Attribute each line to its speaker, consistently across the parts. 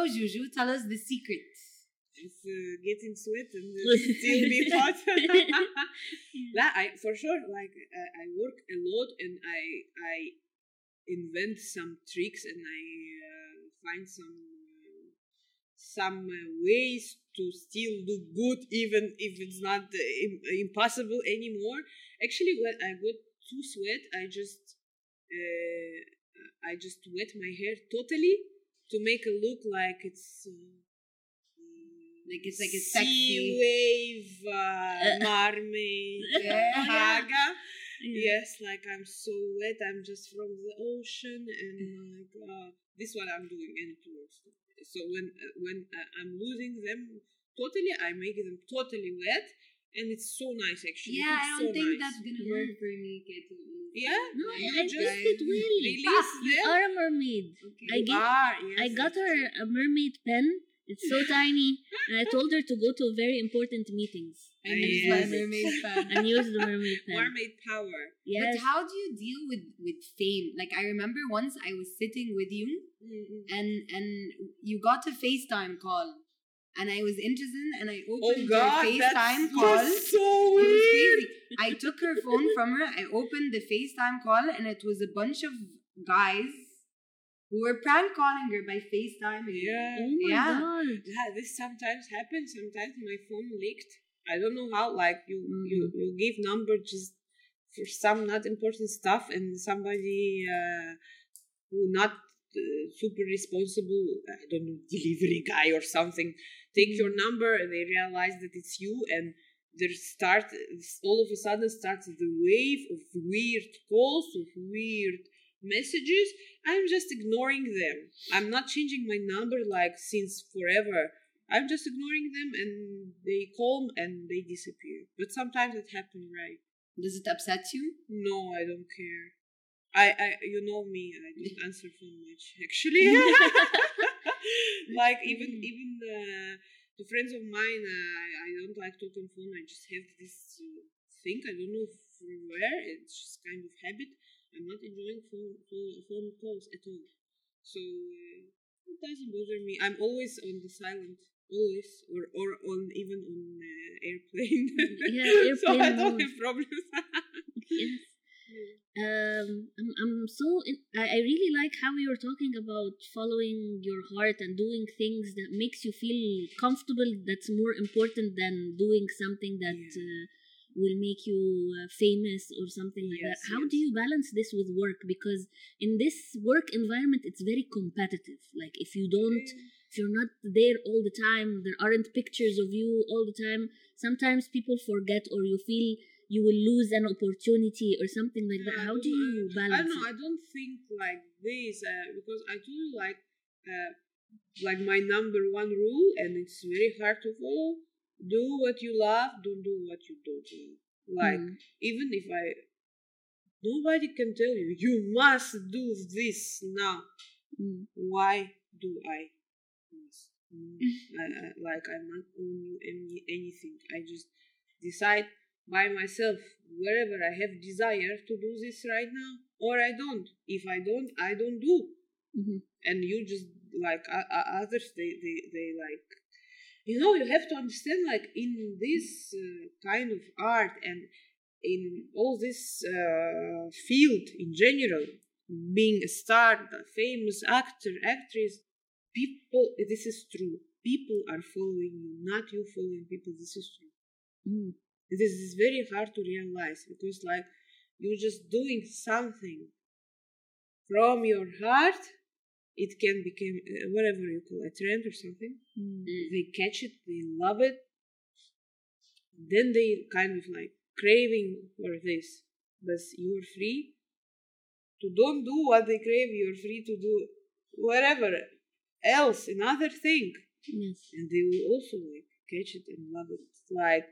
Speaker 1: Juju, tell us the secret.
Speaker 2: It's getting sweat and still be hot. For sure, like I work a lot and I invent some tricks and I find some ways to still do good even if it's not impossible anymore. Actually, when I got too sweat, I just wet my hair totally to make it look like it's
Speaker 1: like a
Speaker 2: sea
Speaker 1: sexy
Speaker 2: wave mermaid haga. Yes, like I'm so wet. I'm just from the ocean, and like this is what I'm doing. And so when I'm losing them totally, I make them totally wet, and it's so nice actually.
Speaker 1: Yeah,
Speaker 2: it's
Speaker 1: I don't think
Speaker 2: nice.
Speaker 1: that's gonna work for me, Ketu.
Speaker 2: Yeah,
Speaker 3: No,
Speaker 2: you
Speaker 3: I
Speaker 2: just
Speaker 3: think it will.
Speaker 2: release
Speaker 3: You
Speaker 2: them.
Speaker 3: are a mermaid.
Speaker 1: Okay.
Speaker 3: I got her a mermaid pen. It's so tiny, and I told her to go to very important meetings
Speaker 1: And use my mermaid fan.
Speaker 3: and use the mermaid pen.
Speaker 2: Mermaid power.
Speaker 3: Yes.
Speaker 1: But how do you deal with fame? Like I remember once I was sitting with you and you got a FaceTime call and I was interested and I opened your FaceTime call.
Speaker 2: So
Speaker 1: It was
Speaker 2: weird.
Speaker 1: crazy. I took her phone from her, I opened the FaceTime call and it was a bunch of guys who were prank calling her by FaceTime.
Speaker 2: Yeah.
Speaker 3: Oh my
Speaker 1: Yeah.
Speaker 3: god.
Speaker 2: Yeah, this sometimes happens. Sometimes my phone leaked. I don't know how. Like you give number just for some not important stuff, and somebody who not super responsible, I don't know, delivery guy or something, take your number and they realize that it's you, and all of a sudden starts the wave of weird calls, of weird messages. I'm just ignoring them. I'm not changing my number like since forever. I'm just ignoring them and they call and they disappear. But sometimes it happens, right?
Speaker 1: Does it upset you?
Speaker 2: No, I don't care. I you know me, I don't answer phone much actually. Like even the friends of mine, I don't like talking phone. I just have this thing. I don't know from where. It's just kind of habit. I'm not enjoying phone calls at all. So it doesn't bother me. I'm always on the silent, always, or on even on airplane.
Speaker 3: Yeah,
Speaker 2: So I
Speaker 3: airplane
Speaker 2: don't
Speaker 3: mode.
Speaker 2: have problems.
Speaker 3: Yes. I really like how you're talking about following your heart and doing things that makes you feel comfortable. That's more important than doing something that will make you famous or something like that. How do you balance this with work? Because in this work environment, it's very competitive. Like if you're not there all the time, there aren't pictures of you all the time. Sometimes people forget, or you feel you will lose an opportunity or something like that. How do you balance?
Speaker 2: I don't know. I don't think like this because I do like my number one rule, and it's very hard to follow. Do what you love. Don't do what you don't love. Like even if nobody can tell you you must do this now. Why do I? Like I'm not owing you anything. I just decide by myself wherever I have desire to do this right now, or I don't. If I don't do. And you just like others, they like, you know, you have to understand, like in this kind of art and in all this field in general, being a star, a famous actor, actress, people, this is true. People are following you, not you following people. This is true. This is very hard to realize because, like, you're just doing something from your heart. It can become whatever you call a trend or something. They catch it, they love it. Then they kind of like craving for this. But you're free to don't do what they crave. You're free to do whatever else, another thing.
Speaker 3: Yes.
Speaker 2: And they will also like catch it and love it. It's like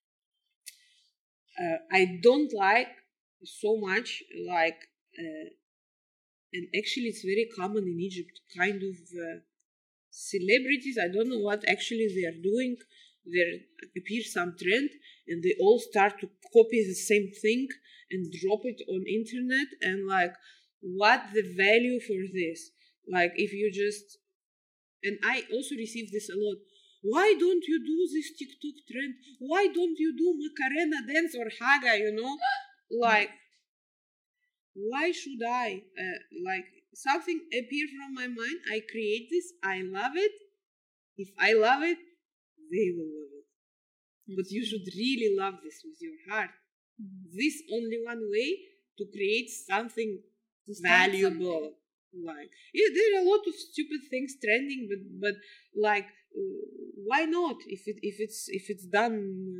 Speaker 2: I don't like so much like and actually it's very common in Egypt, kind of celebrities. I don't know what actually they are doing. There appears some trend and they all start to copy the same thing and drop it on internet, and like what the value for this? Like if you just And I also receive this a lot. Why don't you do this TikTok trend? Why don't you do Macarena dance or Haga, you know? Like, why should I? Like, something appear from my mind, I create this, I love it. If I love it, they will love it. But you should really love this with your heart. This only one way to create something valuable. Like, yeah, there are a lot of stupid things trending, but like, why not? If it's done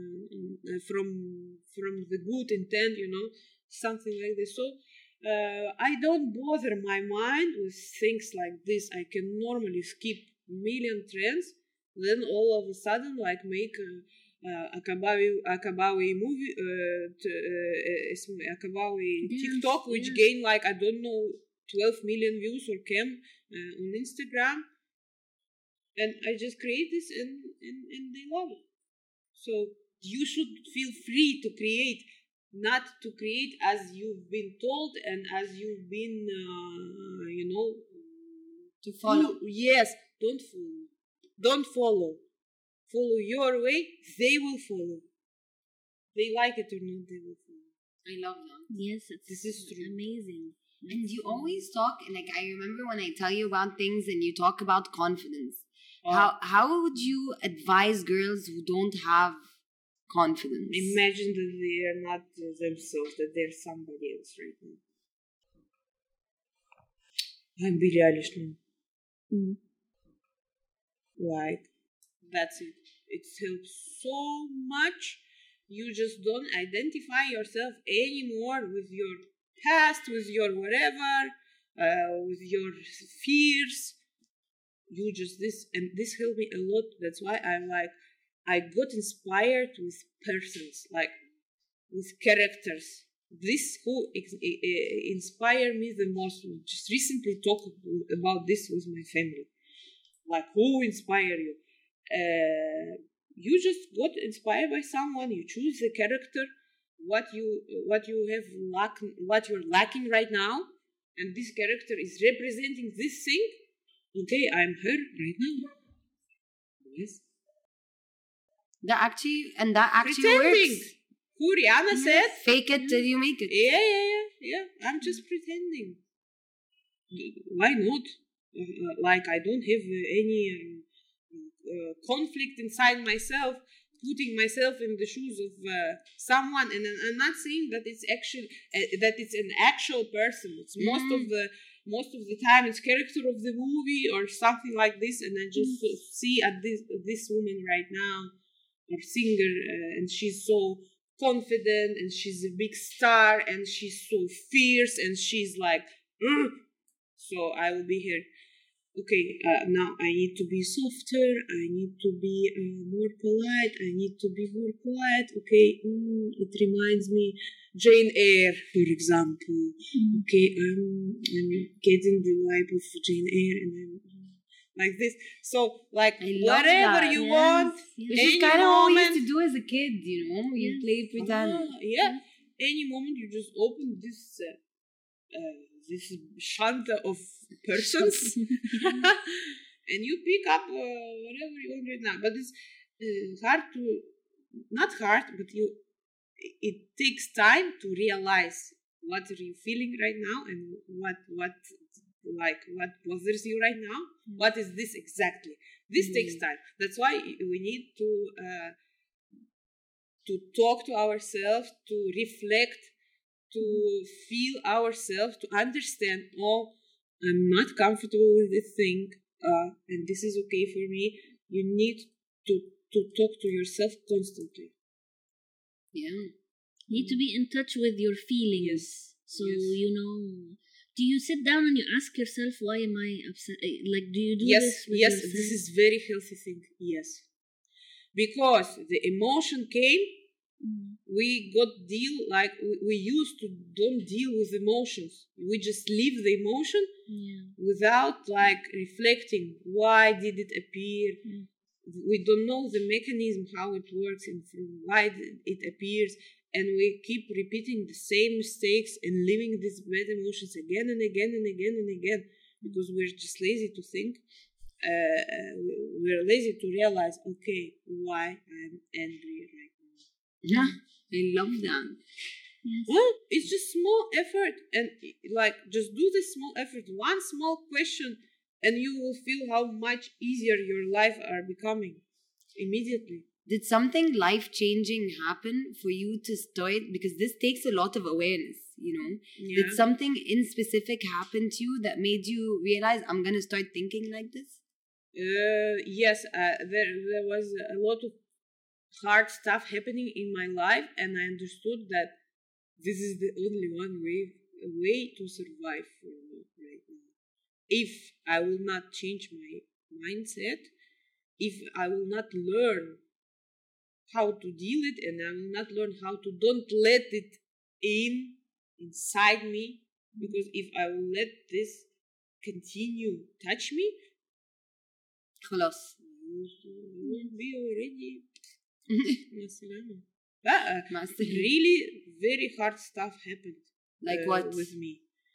Speaker 2: from the good intent, you know, something like this. So I don't bother my mind with things like this. I can normally skip million trends, then all of a sudden like make a kabawi movie, kabawi TikTok, which gain like, I don't know, 12 million views or came on Instagram, and I just create this and they love it. So you should feel free to create, not to create as you've been told and as you've been, you know,
Speaker 1: to follow.
Speaker 2: Yes, don't follow. Follow your way, they will follow. They like it or not, they will follow.
Speaker 1: I love that.
Speaker 3: Yes,
Speaker 2: this is true.
Speaker 3: Amazing.
Speaker 1: And you always talk, like, I remember when I tell you about things and you talk about confidence. How would you advise girls who don't have confidence?
Speaker 2: Imagine that they are not themselves, that they're somebody else right now. I'm Billie Eilish now. Like, that's it. It helps so much. You just don't identify yourself anymore with your past, with your whatever, with your fears. You just this helped me a lot. That's why I got inspired with persons, like with characters. This who inspired me the most. We just recently talked about this with my family. Like, who inspired you? You just got inspired by someone. You choose the character, what you have what you're lacking right now, and this character is representing this thing. Okay, I'm her right now. Yes.
Speaker 1: That actually
Speaker 2: pretending.
Speaker 1: works.
Speaker 2: Who Rihanna said?
Speaker 1: Fake it till you make it.
Speaker 2: Yeah. I'm just pretending. Why not? Like, I don't have any conflict inside myself, putting myself in the shoes of someone, and I'm not saying that it's actually that it's an actual person. It's most of the time it's character of the movie or something like this, and I just see at this woman right now, or singer, and she's so confident, and she's a big star, and she's so fierce, and she's like, so I will be here. Okay, now I need to be softer, I need to be more polite, I need to be more quiet. Okay, it reminds me Jane Eyre, for example. Okay, I'm getting the vibe of Jane Eyre, and I'm like this. So, like, whatever you want,
Speaker 1: which is kind of what we used to do as a kid, you know? You play pretend.
Speaker 2: Any moment you just open this this shanta of persons and you pick up whatever you want right now. But it's not hard, but it takes time to realize what are you feeling right now, and what bothers you right now. What is this exactly? This takes time. That's why we need to talk to ourselves, to reflect, to feel ourselves, to understand, I'm not comfortable with this thing, and this is okay for me. You need to talk to yourself constantly.
Speaker 1: Yeah.
Speaker 3: You need to be in touch with your feelings.
Speaker 2: Yes.
Speaker 3: So, you know, do you sit down and you ask yourself, why am I upset? Like, do you do this with yourself?
Speaker 2: Yes, this is very healthy thing. Yes. Because the emotion came, we got we used to don't deal with emotions. We just leave the emotion without like reflecting why did it appear. We don't know the mechanism, how it works, and why it appears, and we keep repeating the same mistakes and living these bad emotions again and again and again and again, because we're just lazy to think. we're lazy to realize, okay, why I'm angry right now.
Speaker 1: Yeah, I love that.
Speaker 3: Yes.
Speaker 2: Well, it's just small effort, and like just do this small effort, one small question, and you will feel how much easier your life are becoming immediately.
Speaker 1: Did something life-changing happen for you to start? Because this takes a lot of awareness, you know.
Speaker 2: Yeah.
Speaker 1: Did something in specific happen to you that made you realize I'm gonna start thinking like this?
Speaker 2: Yes, there was a lot of hard stuff happening in my life, and I understood that this is the only one way to survive for me right now. If I will not change my mindset, if I will not learn how to deal it, and I will not learn how to don't let it inside me, because if I will let this continue touch me,
Speaker 1: خلاص.
Speaker 2: I will be already
Speaker 1: Master.
Speaker 2: really very hard stuff happened.
Speaker 1: Like what?
Speaker 2: With me?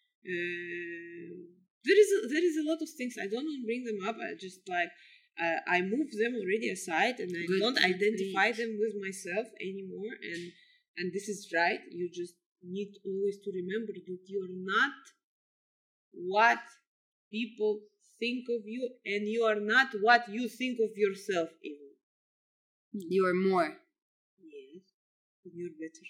Speaker 2: There is a lot of things. I don't want to bring them up. I just like I move them already aside, and I don't identify them with myself anymore. And this is right. You just need always to remember that you are not what people think of you, and you are not what you think of yourself even.
Speaker 1: You are more.
Speaker 2: Yes, you're better.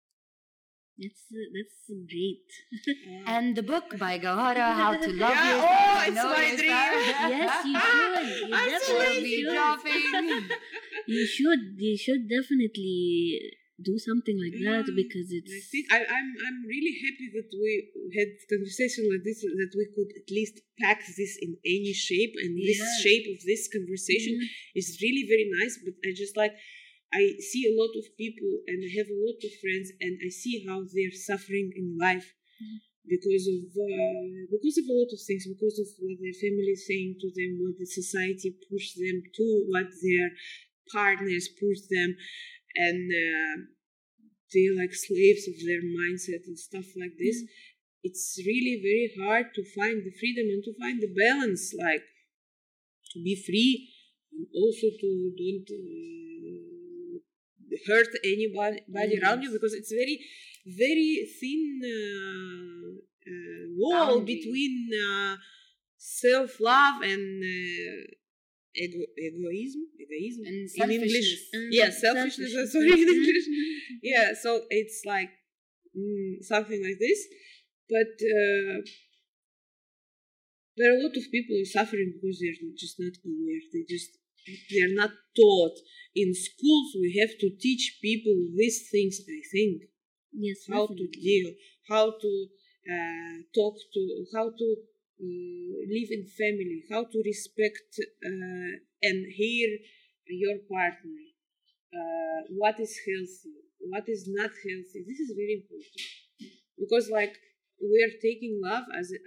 Speaker 3: That's great.
Speaker 1: And the book by Gawhara, How to Love
Speaker 2: Yeah,
Speaker 1: Yourself.
Speaker 2: oh, it's my dream.
Speaker 3: Yes, you should. You
Speaker 2: I'm so
Speaker 3: definitely
Speaker 2: lazy.
Speaker 3: should. You should definitely do something like that, because
Speaker 2: I
Speaker 3: it's
Speaker 2: think I'm really happy that we had conversation like this, that we could at least pack this in any shape, and this shape of this conversation is really very nice. But I just like, I see a lot of people, and I have a lot of friends, and I see how they're suffering in life because of a lot of things, because of what their family is saying to them, what the society pushes them to, what their partners push them, and they're like slaves of their mindset and stuff like this. It's really very hard to find the freedom and to find the balance, like to be free and also to don't hurt anybody around you, because it's very, very thin wall between self-love and egoism
Speaker 1: And
Speaker 2: in English.
Speaker 1: selfishness.
Speaker 2: Selfishness. Sorry, in English. Yeah, so it's like something like this. But there are a lot of people who are suffering because they're just not aware. They're not taught. In schools, we have to teach people these things, I think.
Speaker 3: yes,
Speaker 2: How to deal, how to talk to, how to live in family, how to respect and hear your partner, what is healthy, what is not healthy. This is very important, because like we are taking love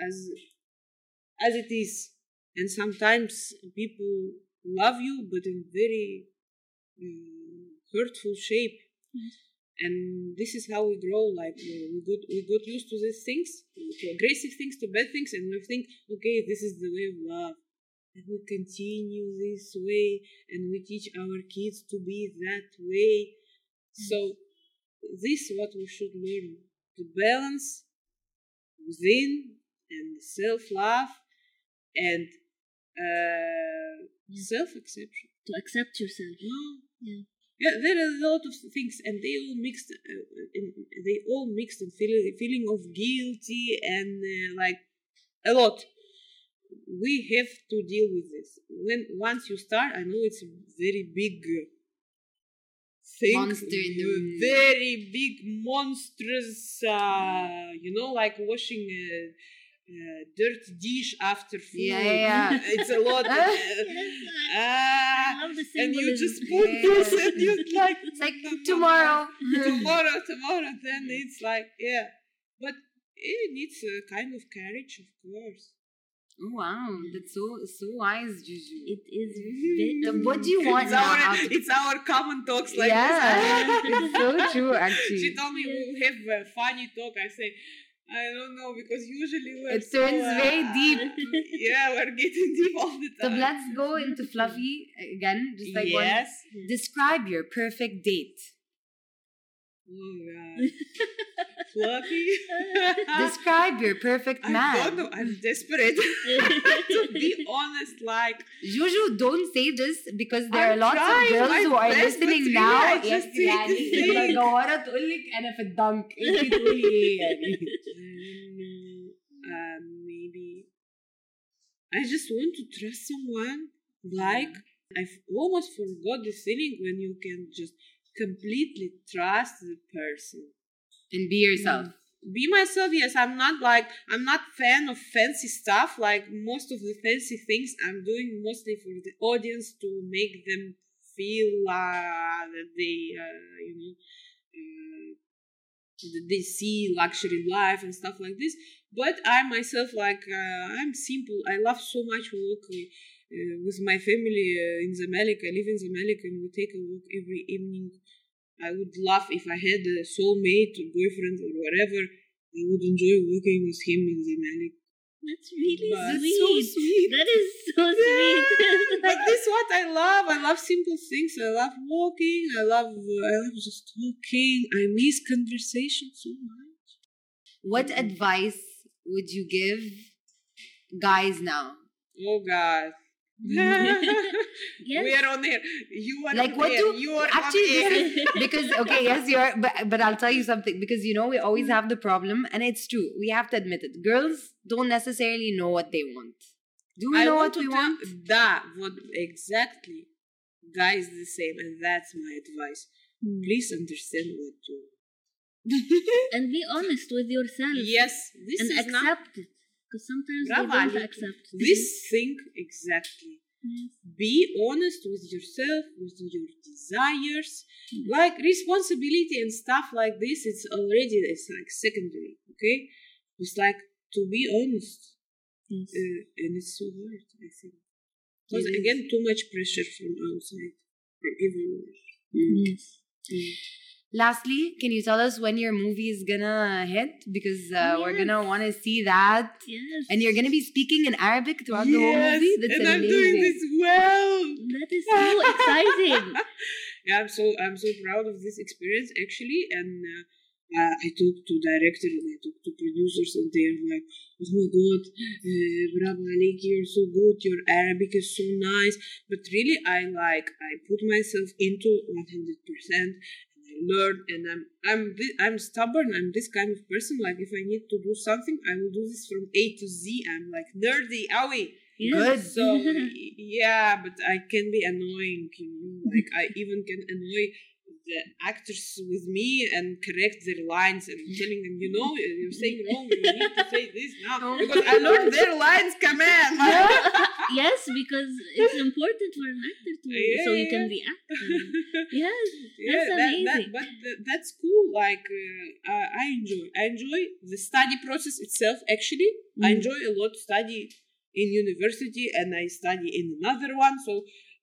Speaker 2: as it is, and sometimes people love you but in very hurtful shape. And this is how we grow. Like we got used to these things, to aggressive things, to bad things, and we think, okay, this is the way of love, and we continue this way, and we teach our kids to be that way. So this is what we should learn: to balance within and self-love and self-acceptation.
Speaker 3: to accept yourself.
Speaker 2: Yeah, there are a lot of things, and they all mixed. In feeling of guilty and like a lot. We have to deal with this. Once you start, I know it's a very big thing,
Speaker 1: Monster in the room.
Speaker 2: very big monstrous. Like washing dirt dish after food.
Speaker 1: Yeah.
Speaker 2: It's a lot.
Speaker 3: I love the
Speaker 2: And you
Speaker 3: symbolism.
Speaker 2: just put this, and you like
Speaker 1: It's like tomorrow.
Speaker 2: tomorrow. Then it's like, yeah, but it needs a kind of courage, of course.
Speaker 1: Oh wow, that's so wise, Juju.
Speaker 3: It is
Speaker 1: What do you want now?
Speaker 2: It's our common talks like
Speaker 1: Yeah,
Speaker 2: this.
Speaker 1: it's so true. Actually,
Speaker 2: She told me we'll have a funny talk. I say, I don't know, because usually we're
Speaker 1: It turns very deep.
Speaker 2: Yeah, we're getting deep all the
Speaker 1: So
Speaker 2: time.
Speaker 1: let's go into fluffy again. Just like
Speaker 2: yes.
Speaker 1: Describe your perfect date.
Speaker 2: Oh God. Fluffy.
Speaker 1: Describe your perfect man.
Speaker 2: I don't know. I'm desperate. To be honest, like
Speaker 1: Juju, don't say this because there are lots of
Speaker 2: trying
Speaker 1: girls
Speaker 2: my
Speaker 1: who are
Speaker 2: best,
Speaker 1: listening
Speaker 2: but
Speaker 1: now.
Speaker 2: really I just
Speaker 1: Yes,
Speaker 2: need to
Speaker 1: يعني
Speaker 2: think.
Speaker 1: مدورة تقول لك أنا في الدنك. أنت تقولي إيه يعني؟
Speaker 2: Maybe I just want to trust someone. Like I've almost forgot the feeling when you can just completely trust the person.
Speaker 1: And be yourself.
Speaker 2: Be myself. Yes, I'm not fan of fancy stuff. Like most of the fancy things I'm doing mostly for the audience to make them feel that they that they see luxury life and stuff like this. But I myself, I'm simple. I love so much walk with my family in Zamalek. I live in Zamalek and we take a walk every evening. I would love if I had a soulmate or boyfriend or whatever. I would enjoy working with him in Zamalek.
Speaker 3: That's really
Speaker 2: That's
Speaker 3: sweet.
Speaker 2: so sweet.
Speaker 3: That is so sweet.
Speaker 2: But this is what I love. I love simple things. I love walking. I love just talking. I miss conversation so much.
Speaker 1: What advice would you give guys now?
Speaker 2: Oh God.
Speaker 3: Yes.
Speaker 2: We are on air. You are
Speaker 1: Like
Speaker 2: on
Speaker 1: what
Speaker 2: air.
Speaker 1: do
Speaker 2: You are
Speaker 1: actually
Speaker 2: on air.
Speaker 1: this is because okay, yes, you are, but I'll tell you something, because you know we always have the problem, and it's true. We have to admit it. Girls don't necessarily know what they want. Do we know what we want?
Speaker 2: What exactly? Guys, the same, and that's my advice. Please understand what you want.
Speaker 3: And be honest with yourself.
Speaker 2: Yes, this
Speaker 3: And
Speaker 2: is not
Speaker 3: accept it. Because sometimes
Speaker 2: Bravo,
Speaker 3: they don't
Speaker 2: Ali.
Speaker 3: accept
Speaker 2: this thing exactly.
Speaker 3: Yes.
Speaker 2: Be honest with yourself, with your desires. Like responsibility and stuff like this, it's like secondary, okay? It's like to be honest.
Speaker 3: Yes.
Speaker 2: And it's so hard, I think. Because again, too much pressure from outside, from everywhere.
Speaker 3: Yes.
Speaker 1: Lastly, can you tell us when your movie is gonna hit? Because we're gonna want to see that.
Speaker 3: Yes.
Speaker 1: And you're gonna be speaking in Arabic throughout the whole movie. That's
Speaker 2: and
Speaker 1: amazing.
Speaker 2: I'm doing this well.
Speaker 3: That is so exciting.
Speaker 2: Yeah, I'm so proud of this experience actually, and I talked to director and I talked to producers, and they're like, "Oh my God, bravo Aliki, you're so good. Your Arabic is so nice." But really, I put myself into 100%. Learn, and I'm stubborn. I'm this kind of person. Like if I need to do something, I will do this from A to Z. I'm like nerdy, owie.
Speaker 3: Yes.
Speaker 1: Good.
Speaker 2: So yeah, but I can be annoying. Like I even can annoy the actors with me and correct their lines and telling them, you're saying wrong. You need to say this now because I learned their lines. Come on.
Speaker 3: Yes, because it's important for an actor to so you can react. Yes, that's amazing.
Speaker 2: That's cool. Like I enjoy the study process itself. Actually, I enjoy a lot study in university, and I study in another one. So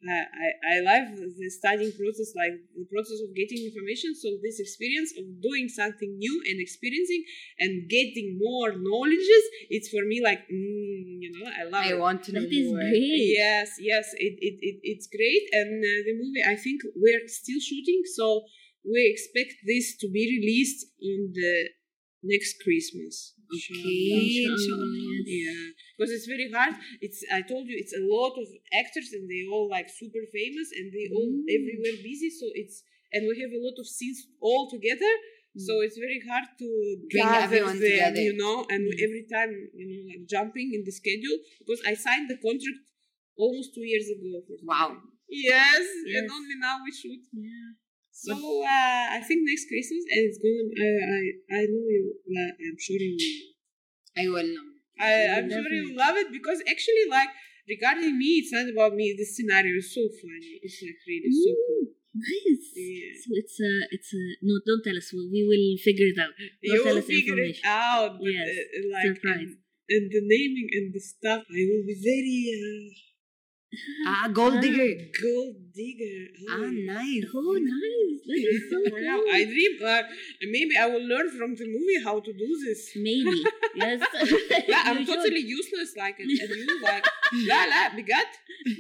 Speaker 2: I love the studying process, like the process of getting information. So this experience of doing something new and experiencing and getting more knowledges, it's for me like I love it.
Speaker 1: I want to know
Speaker 3: That is
Speaker 1: more.
Speaker 3: great.
Speaker 2: Yes, it's great. And the movie, I think we're still shooting, so we expect this to be released in the next Christmas.
Speaker 1: Okay.
Speaker 2: Yeah, because it's very hard. I told you, it's a lot of actors, and they all like super famous, and they all everywhere busy. So and we have a lot of scenes all together. So it's very hard to
Speaker 1: Bring
Speaker 2: gather
Speaker 1: everyone
Speaker 2: them,
Speaker 1: together.
Speaker 2: and every time, like jumping in the schedule, because I signed the contract almost 2 years ago.
Speaker 1: Wow.
Speaker 2: Yes,
Speaker 3: Yes.
Speaker 2: and only now we shoot.
Speaker 3: Yeah.
Speaker 2: So I think next Christmas, and it's gonna. I know you. I'm sure you will.
Speaker 1: I will know.
Speaker 2: I'm sure you will love it, because actually, like regarding me, it's not about me. The scenario is so funny. It's like really so cool.
Speaker 3: Nice.
Speaker 2: Yeah.
Speaker 3: So it's a no. Don't tell us. We will figure it out. Don't
Speaker 2: You
Speaker 3: tell
Speaker 2: will
Speaker 3: us
Speaker 2: figure it
Speaker 3: information.
Speaker 2: out. But,
Speaker 3: Yes.
Speaker 2: like
Speaker 3: Surprise.
Speaker 2: and the naming and the stuff, I will be very
Speaker 1: Gold digger.
Speaker 2: Gold digger.
Speaker 1: Nice.
Speaker 3: Oh, nice. That is so cool.
Speaker 2: I dream. Maybe I will learn from the movie how to do this.
Speaker 3: Maybe. Yes.
Speaker 2: Yeah, I'm
Speaker 3: You should.
Speaker 2: totally useless. Like, and you like, la, bigat.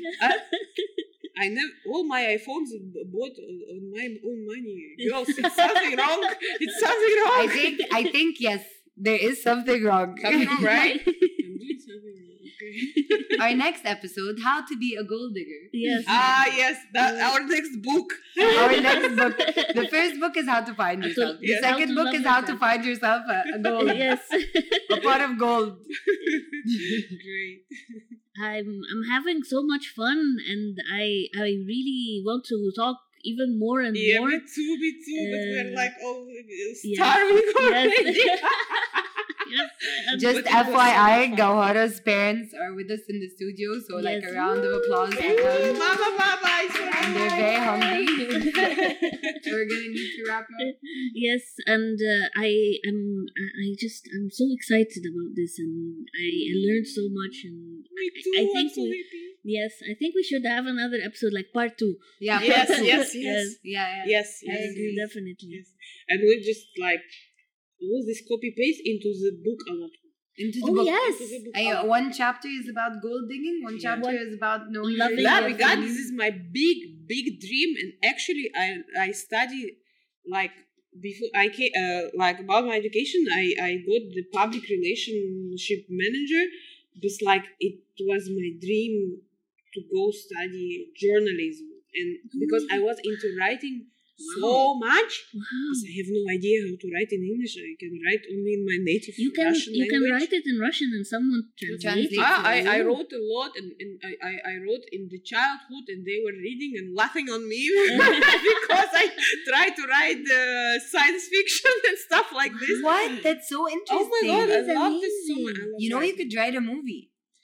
Speaker 2: I never. All my iPhones bought on my own money. Girls, it's something wrong. It's something wrong.
Speaker 1: I think yes, there is something wrong.
Speaker 2: Something wrong, right? I'm doing something wrong. Okay.
Speaker 1: Our next episode, How to Be a Gold Digger.
Speaker 3: Yes.
Speaker 2: Yes, that our next book.
Speaker 1: Our next book. The first book is How to Find Yourself. The
Speaker 2: Yes.
Speaker 1: second
Speaker 3: How to
Speaker 1: book
Speaker 3: love
Speaker 1: is How to
Speaker 3: yourself.
Speaker 1: Find Yourself a gold.
Speaker 3: Yes.
Speaker 1: A pot of gold.
Speaker 2: Great.
Speaker 3: I'm having so much fun, and I really want to talk even more and
Speaker 2: Yeah,
Speaker 3: more.
Speaker 2: me too. But we're like all
Speaker 3: yeah.
Speaker 2: starving already.
Speaker 3: Yes. Yes.
Speaker 1: Just
Speaker 2: But it was so
Speaker 1: FYI,
Speaker 2: fun.
Speaker 1: Gawhara's parents are with us in the studio, so like
Speaker 3: Yes.
Speaker 1: a round of applause for
Speaker 2: Ooh,
Speaker 1: them.
Speaker 2: Mama, it's for
Speaker 1: And
Speaker 2: you.
Speaker 1: they're very hungry. So we're gonna need to wrap up.
Speaker 3: Yes, and I'm so excited about this, and I learned so much, and
Speaker 2: Me too.
Speaker 3: I
Speaker 2: I'm
Speaker 3: think
Speaker 2: so
Speaker 3: we-
Speaker 2: happy.
Speaker 3: yes, I think we should have another episode like part 2.
Speaker 1: Yeah.
Speaker 2: Yes, yes,
Speaker 3: Yes.
Speaker 2: yes.
Speaker 1: Yeah.
Speaker 2: Yes,
Speaker 1: I
Speaker 2: yes,
Speaker 1: agree.
Speaker 2: yes.
Speaker 3: Definitely.
Speaker 2: Yes. And we just like all this copy paste into the book a lot.
Speaker 1: Into the
Speaker 3: Oh,
Speaker 1: book.
Speaker 3: yes.
Speaker 2: Into the book a lot.
Speaker 1: One chapter is about gold digging. One chapter is about knowing
Speaker 3: Loving
Speaker 1: yourself.
Speaker 2: Yeah,
Speaker 3: your
Speaker 2: because
Speaker 3: friends.
Speaker 2: this is my big dream, and actually, I study like before I came like about my education. I got the public relationship manager, because like it was my dream to go study journalism, and because I was into writing so much.
Speaker 3: Wow.
Speaker 2: Because I have no idea how to write in English. I can write only in my native
Speaker 3: You can
Speaker 2: Russian
Speaker 3: you can
Speaker 2: language.
Speaker 3: write it in Russian and someone translate it.
Speaker 1: translate.
Speaker 2: I wrote a lot, and I wrote in the childhood, and they were reading and laughing on me because I tried to write science fiction and stuff like this.
Speaker 1: What? That's so
Speaker 2: Oh
Speaker 1: interesting.
Speaker 2: my god, I
Speaker 3: That's
Speaker 2: love this so
Speaker 3: amazing.
Speaker 2: much. I love
Speaker 1: You know, you
Speaker 2: writing.
Speaker 1: could write a movie.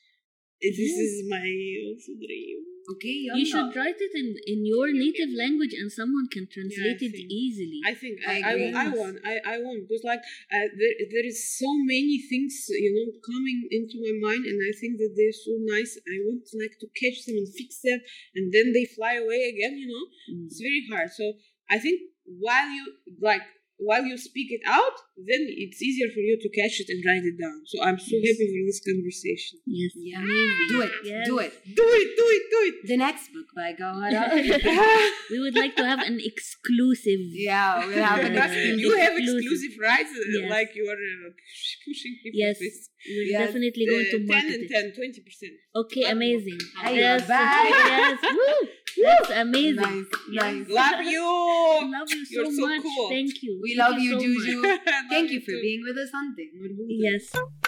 Speaker 2: This is my also dream.
Speaker 1: Okay,
Speaker 3: You should write it in your native language, and someone can translate
Speaker 2: I
Speaker 3: it
Speaker 2: think-
Speaker 3: easily.
Speaker 2: I think
Speaker 1: I
Speaker 2: I
Speaker 1: agree.
Speaker 2: want because like there is so many things coming into my mind, and I think that they're so nice. I want like to catch them and fix them, and then they fly away again.
Speaker 3: Mm.
Speaker 2: It's very hard. So I think while you speak it out, then it's easier for you to catch it and write it down. So I'm so happy for this conversation.
Speaker 3: Yes.
Speaker 1: Yeah.
Speaker 3: Amazing.
Speaker 1: Do it.
Speaker 3: Yes.
Speaker 1: Do it.
Speaker 2: Do it.
Speaker 1: The next book by Gawhara.
Speaker 3: We would like to have an exclusive.
Speaker 1: Yeah, we'll have an
Speaker 2: You have
Speaker 3: exclusive.
Speaker 2: exclusive rights,
Speaker 3: Yes.
Speaker 2: like you are pushing people.
Speaker 3: Yes,
Speaker 2: with
Speaker 3: we're
Speaker 1: Yes.
Speaker 3: definitely going to
Speaker 2: 10
Speaker 3: market
Speaker 2: and
Speaker 3: it.
Speaker 2: 10, 20%.
Speaker 3: Okay, amazing.
Speaker 1: Hey,
Speaker 3: Yes,
Speaker 1: bye.
Speaker 3: yes. Woo! That's amazing.
Speaker 1: Nice.
Speaker 2: Love you.
Speaker 3: Love you so,
Speaker 2: You're so
Speaker 3: much.
Speaker 2: cool.
Speaker 3: Thank you.
Speaker 1: We
Speaker 3: Thank
Speaker 1: love you,
Speaker 3: so much.
Speaker 1: Juju.
Speaker 2: Love
Speaker 1: Thank you for
Speaker 2: too.
Speaker 1: being with us on Thing.
Speaker 3: Yes.